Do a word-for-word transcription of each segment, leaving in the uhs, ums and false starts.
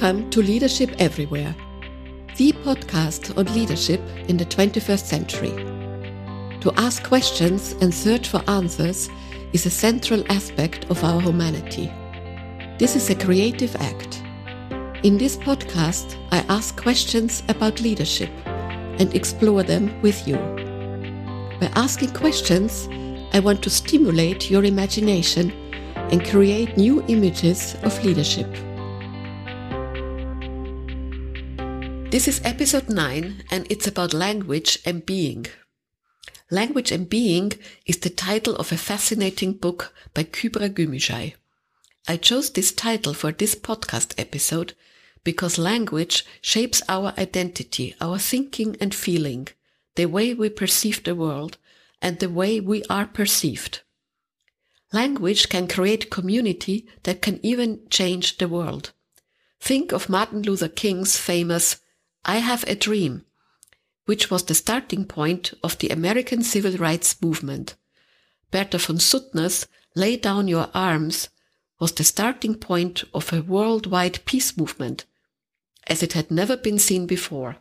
Welcome to Leadership Everywhere, the podcast on leadership in the twenty-first century. To ask questions and search for answers is a central aspect of our humanity. This is a creative act. In this podcast, I ask questions about leadership and explore them with you. By asking questions, I want to stimulate your imagination and create new images of leadership. This is episode nine, and it's about language and being. Language and Being is the title of a fascinating book by Kübra Gümüşay. I chose this title for this podcast episode because language shapes our identity, our thinking and feeling, the way we perceive the world, and the way we are perceived. Language can create community that can even change the world. Think of Martin Luther King's famous "I Have a Dream," which was the starting point of the American civil rights movement. Bertha von Suttner's "Lay Down Your Arms" was the starting point of a worldwide peace movement, as it had never been seen before.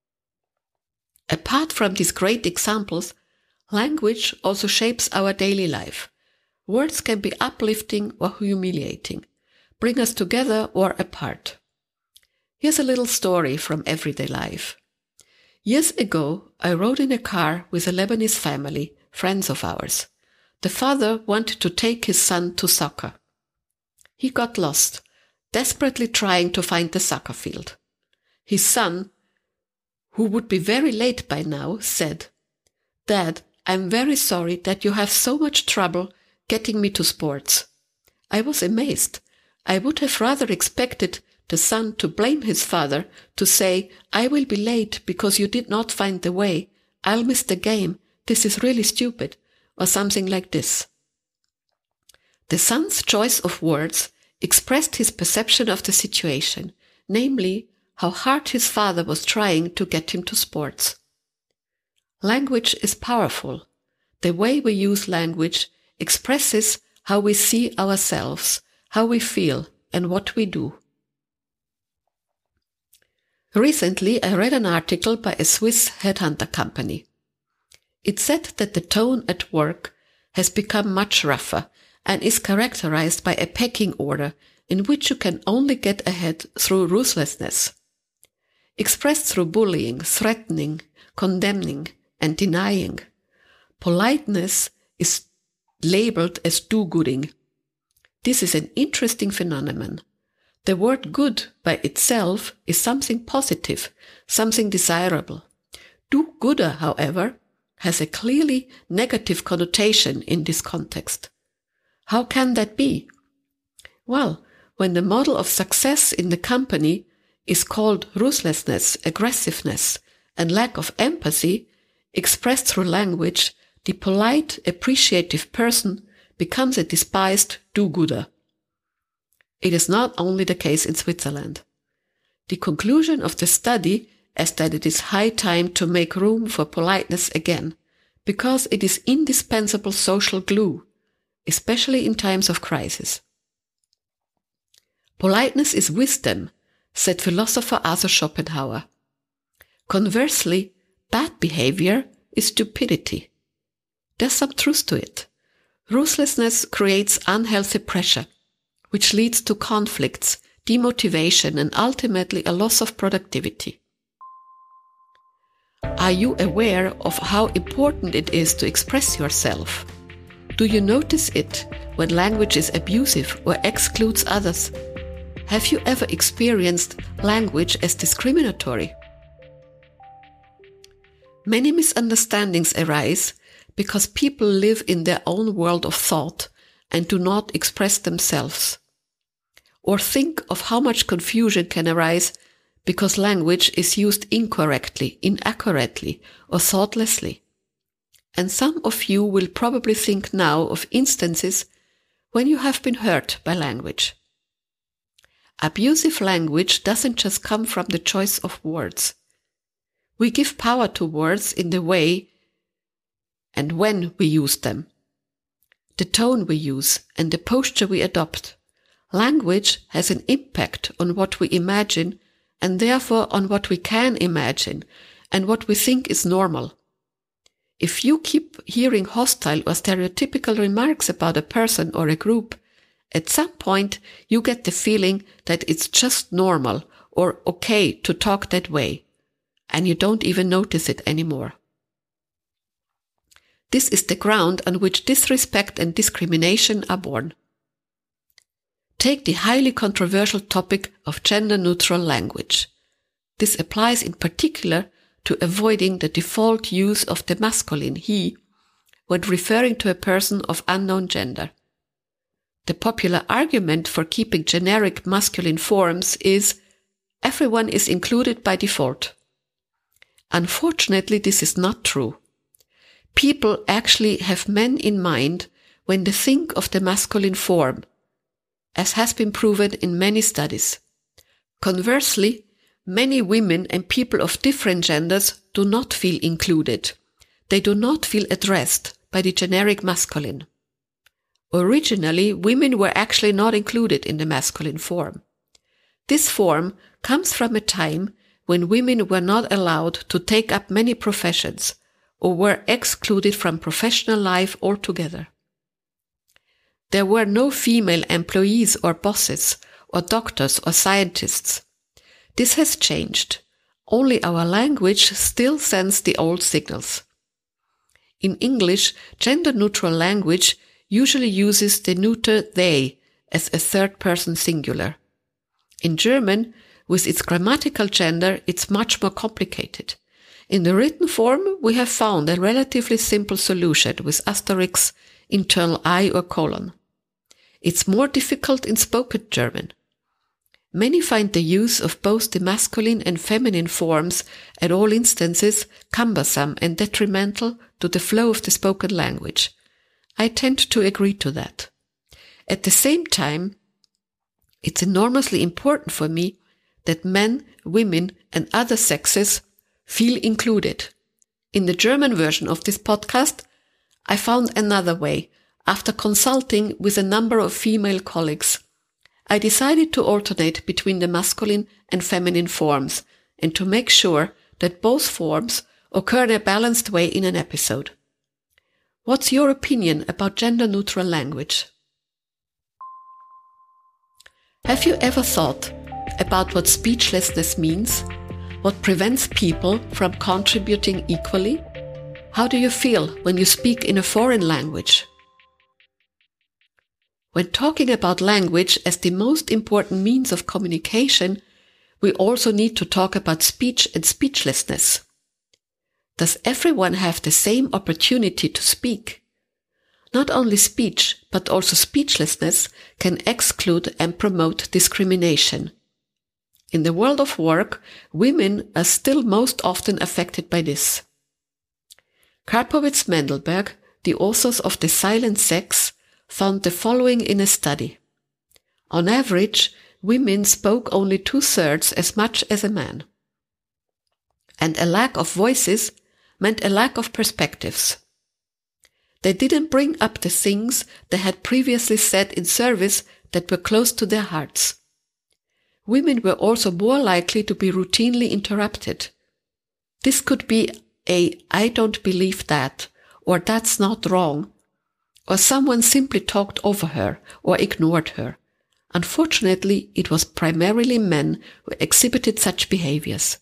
Apart from these great examples, language also shapes our daily life. Words can be uplifting or humiliating, bring us together or apart. Here's a little story from everyday life. Years ago, I rode in a car with a Lebanese family, friends of ours. The father wanted to take his son to soccer. He got lost, desperately trying to find the soccer field. His son, who would be very late by now, said, "Dad, I'm very sorry that you have so much trouble getting me to sports." I was amazed. I would have rather expected the son to blame his father, to say, "I will be late because you did not find the way. I'll miss the game. This is really stupid," or something like this. The son's choice of words expressed his perception of the situation, namely, how hard his father was trying to get him to sports. Language is powerful. The way we use language expresses how we see ourselves, how we feel, and what we do. Recently, I read an article by a Swiss headhunter company. It said that the tone at work has become much rougher and is characterized by a pecking order in which you can only get ahead through ruthlessness, expressed through bullying, threatening, condemning, and denying. Politeness is labeled as do-gooding. This is an interesting phenomenon. The word good by itself is something positive, something desirable. Do-gooder, however, has a clearly negative connotation in this context. How can that be? Well, when the model of success in the company is called ruthlessness, aggressiveness, and lack of empathy, expressed through language, the polite, appreciative person becomes a despised do-gooder. It is not only the case in Switzerland. The conclusion of the study is that it is high time to make room for politeness again, because it is indispensable social glue, especially in times of crisis. Politeness is wisdom, said philosopher Arthur Schopenhauer. Conversely, bad behavior is stupidity. There's some truth to it. Ruthlessness creates unhealthy pressure, which leads to conflicts, demotivation, and ultimately a loss of productivity. Are you aware of how important it is to express yourself? Do you notice it when language is abusive or excludes others? Have you ever experienced language as discriminatory? Many misunderstandings arise because people live in their own world of thought and do not express themselves. Or think of how much confusion can arise because language is used incorrectly, inaccurately, or thoughtlessly. And some of you will probably think now of instances when you have been hurt by language. Abusive language doesn't just come from the choice of words. We give power to words in the way and when we use them, the tone we use, and the posture we adopt. Language has an impact on what we imagine and therefore on what we can imagine and what we think is normal. If you keep hearing hostile or stereotypical remarks about a person or a group, at some point you get the feeling that it's just normal or okay to talk that way, and you don't even notice it anymore. This is the ground on which disrespect and discrimination are born. Take the highly controversial topic of gender-neutral language. This applies in particular to avoiding the default use of the masculine he when referring to a person of unknown gender. The popular argument for keeping generic masculine forms is everyone is included by default. Unfortunately, this is not true. People actually have men in mind when they think of the masculine form, as has been proven in many studies. Conversely, many women and people of different genders do not feel included. They do not feel addressed by the generic masculine. Originally, women were actually not included in the masculine form. This form comes from a time when women were not allowed to take up many professions or were excluded from professional life altogether. There were no female employees or bosses or doctors or scientists. This has changed. Only our language still sends the old signals. In English, gender-neutral language usually uses the neuter they as a third-person singular. In German, with its grammatical gender, it's much more complicated. In the written form, we have found a relatively simple solution with asterisk, internal I or colon. It's more difficult in spoken German. Many find the use of both the masculine and feminine forms at all instances cumbersome and detrimental to the flow of the spoken language. I tend to agree to that. At the same time, it's enormously important for me that men, women, and other sexes feel included. In the German version of this podcast, I found another way. After consulting with a number of female colleagues, I decided to alternate between the masculine and feminine forms and to make sure that both forms occur in a balanced way in an episode. What's your opinion about gender-neutral language? Have you ever thought about what speechlessness means? What prevents people from contributing equally? How do you feel when you speak in a foreign language? When talking about language as the most important means of communication, we also need to talk about speech and speechlessness. Does everyone have the same opportunity to speak? Not only speech, but also speechlessness can exclude and promote discrimination. In the world of work, women are still most often affected by this. Karpowitz-Mendelberg, the authors of The Silent Sex, found the following in a study. On average, women spoke only two-thirds as much as a man. And a lack of voices meant a lack of perspectives. They didn't bring up the things they had previously said in service that were close to their hearts. Women were also more likely to be routinely interrupted. This could be a "I don't believe that," or "that's not wrong," or someone simply talked over her or ignored her. Unfortunately, it was primarily men who exhibited such behaviors.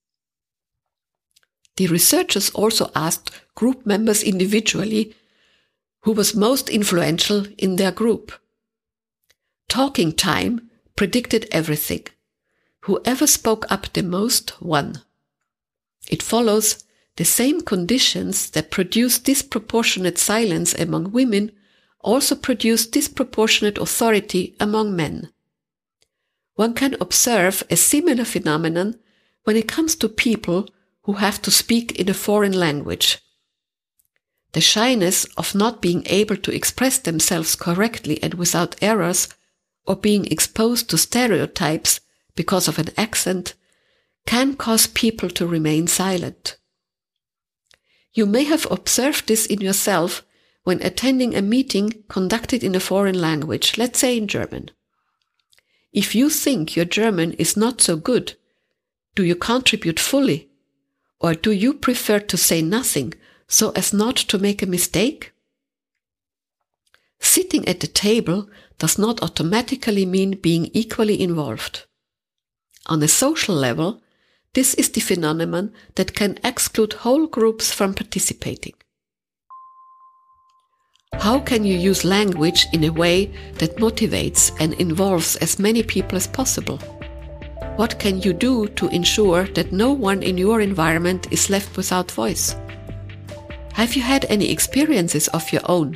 The researchers also asked group members individually who was most influential in their group. Talking time predicted everything. Whoever spoke up the most won. It follows the same conditions that produce disproportionate silence among women also produce disproportionate authority among men. One can observe a similar phenomenon when it comes to people who have to speak in a foreign language. The shyness of not being able to express themselves correctly and without errors, or being exposed to stereotypes because of an accent, can cause people to remain silent. You may have observed this in yourself when attending a meeting conducted in a foreign language, let's say in German. If you think your German is not so good, do you contribute fully? Or do you prefer to say nothing so as not to make a mistake? Sitting at the table does not automatically mean being equally involved. On a social level, this is the phenomenon that can exclude whole groups from participating. How can you use language in a way that motivates and involves as many people as possible? What can you do to ensure that no one in your environment is left without voice? Have you had any experiences of your own?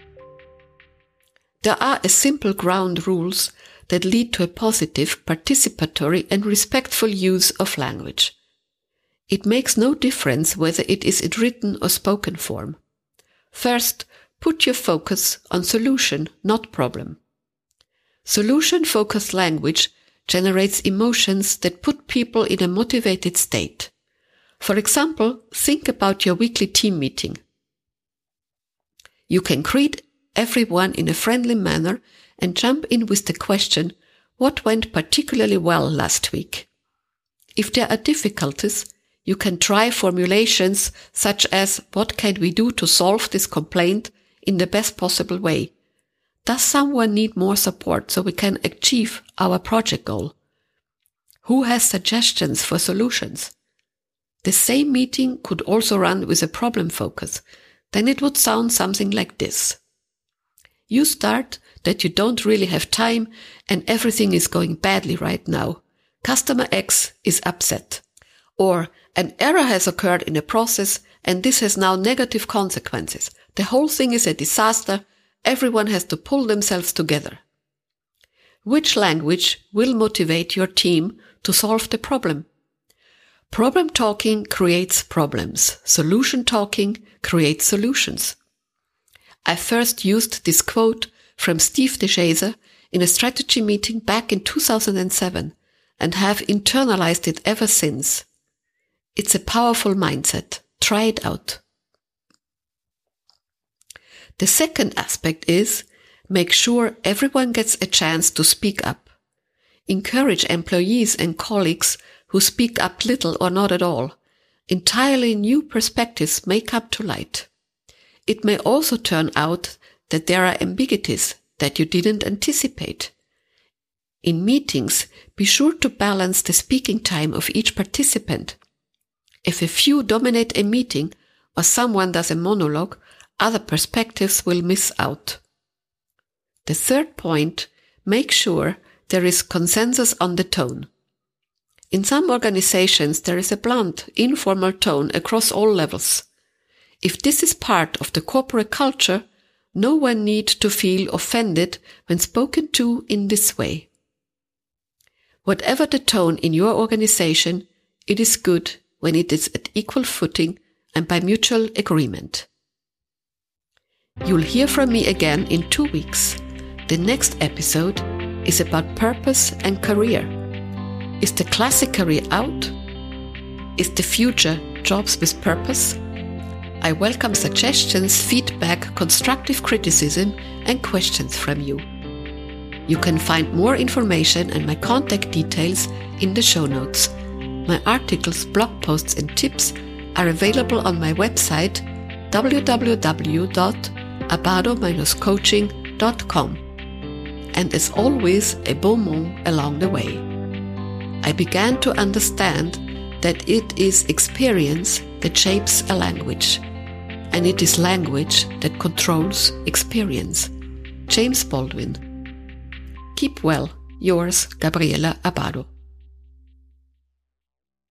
There are a simple ground rules that lead to a positive, participatory and respectful use of language. It makes no difference whether it is in written or spoken form. First, put your focus on solution, not problem. Solution-focused language generates emotions that put people in a motivated state. For example, think about your weekly team meeting. You can greet everyone in a friendly manner and jump in with the question, what went particularly well last week? If there are difficulties, you can try formulations such as, what can we do to solve this complaint in the best possible way? Does someone need more support so we can achieve our project goal? Who has suggestions for solutions? The same meeting could also run with a problem focus. Then it would sound something like this. You start that you don't really have time and everything is going badly right now. Customer X is upset. Or an error has occurred in a process and this has now negative consequences. The whole thing is a disaster. Everyone has to pull themselves together. Which language will motivate your team to solve the problem? Problem talking creates problems. Solution talking creates solutions. I first used this quote from Steve DeShazer in a strategy meeting back in two thousand seven and have internalized it ever since. It's a powerful mindset. Try it out. The second aspect is make sure everyone gets a chance to speak up. Encourage employees and colleagues who speak up little or not at all. Entirely new perspectives may come to light. It may also turn out that there are ambiguities that you didn't anticipate. In meetings, be sure to balance the speaking time of each participant. If a few dominate a meeting or someone does a monologue, other perspectives will miss out. The third point, make sure there is consensus on the tone. In some organizations, there is a blunt, informal tone across all levels. If this is part of the corporate culture, no one needs to feel offended when spoken to in this way. Whatever the tone in your organization, it is good when it is at equal footing and by mutual agreement. You'll hear from me again in two weeks. The next episode is about purpose and career. Is the classic career out? Is the future jobs with purpose? I welcome suggestions, feedback, constructive criticism, and questions from you. You can find more information and my contact details in the show notes. My articles, blog posts, and tips are available on my website w w w dot abado dash coaching dot com. And as always, a bon mot along the way. I began to understand that it is experience that shapes a language, and it is language that controls experience. James Baldwin. Keep well. Yours, Gabriela Abado.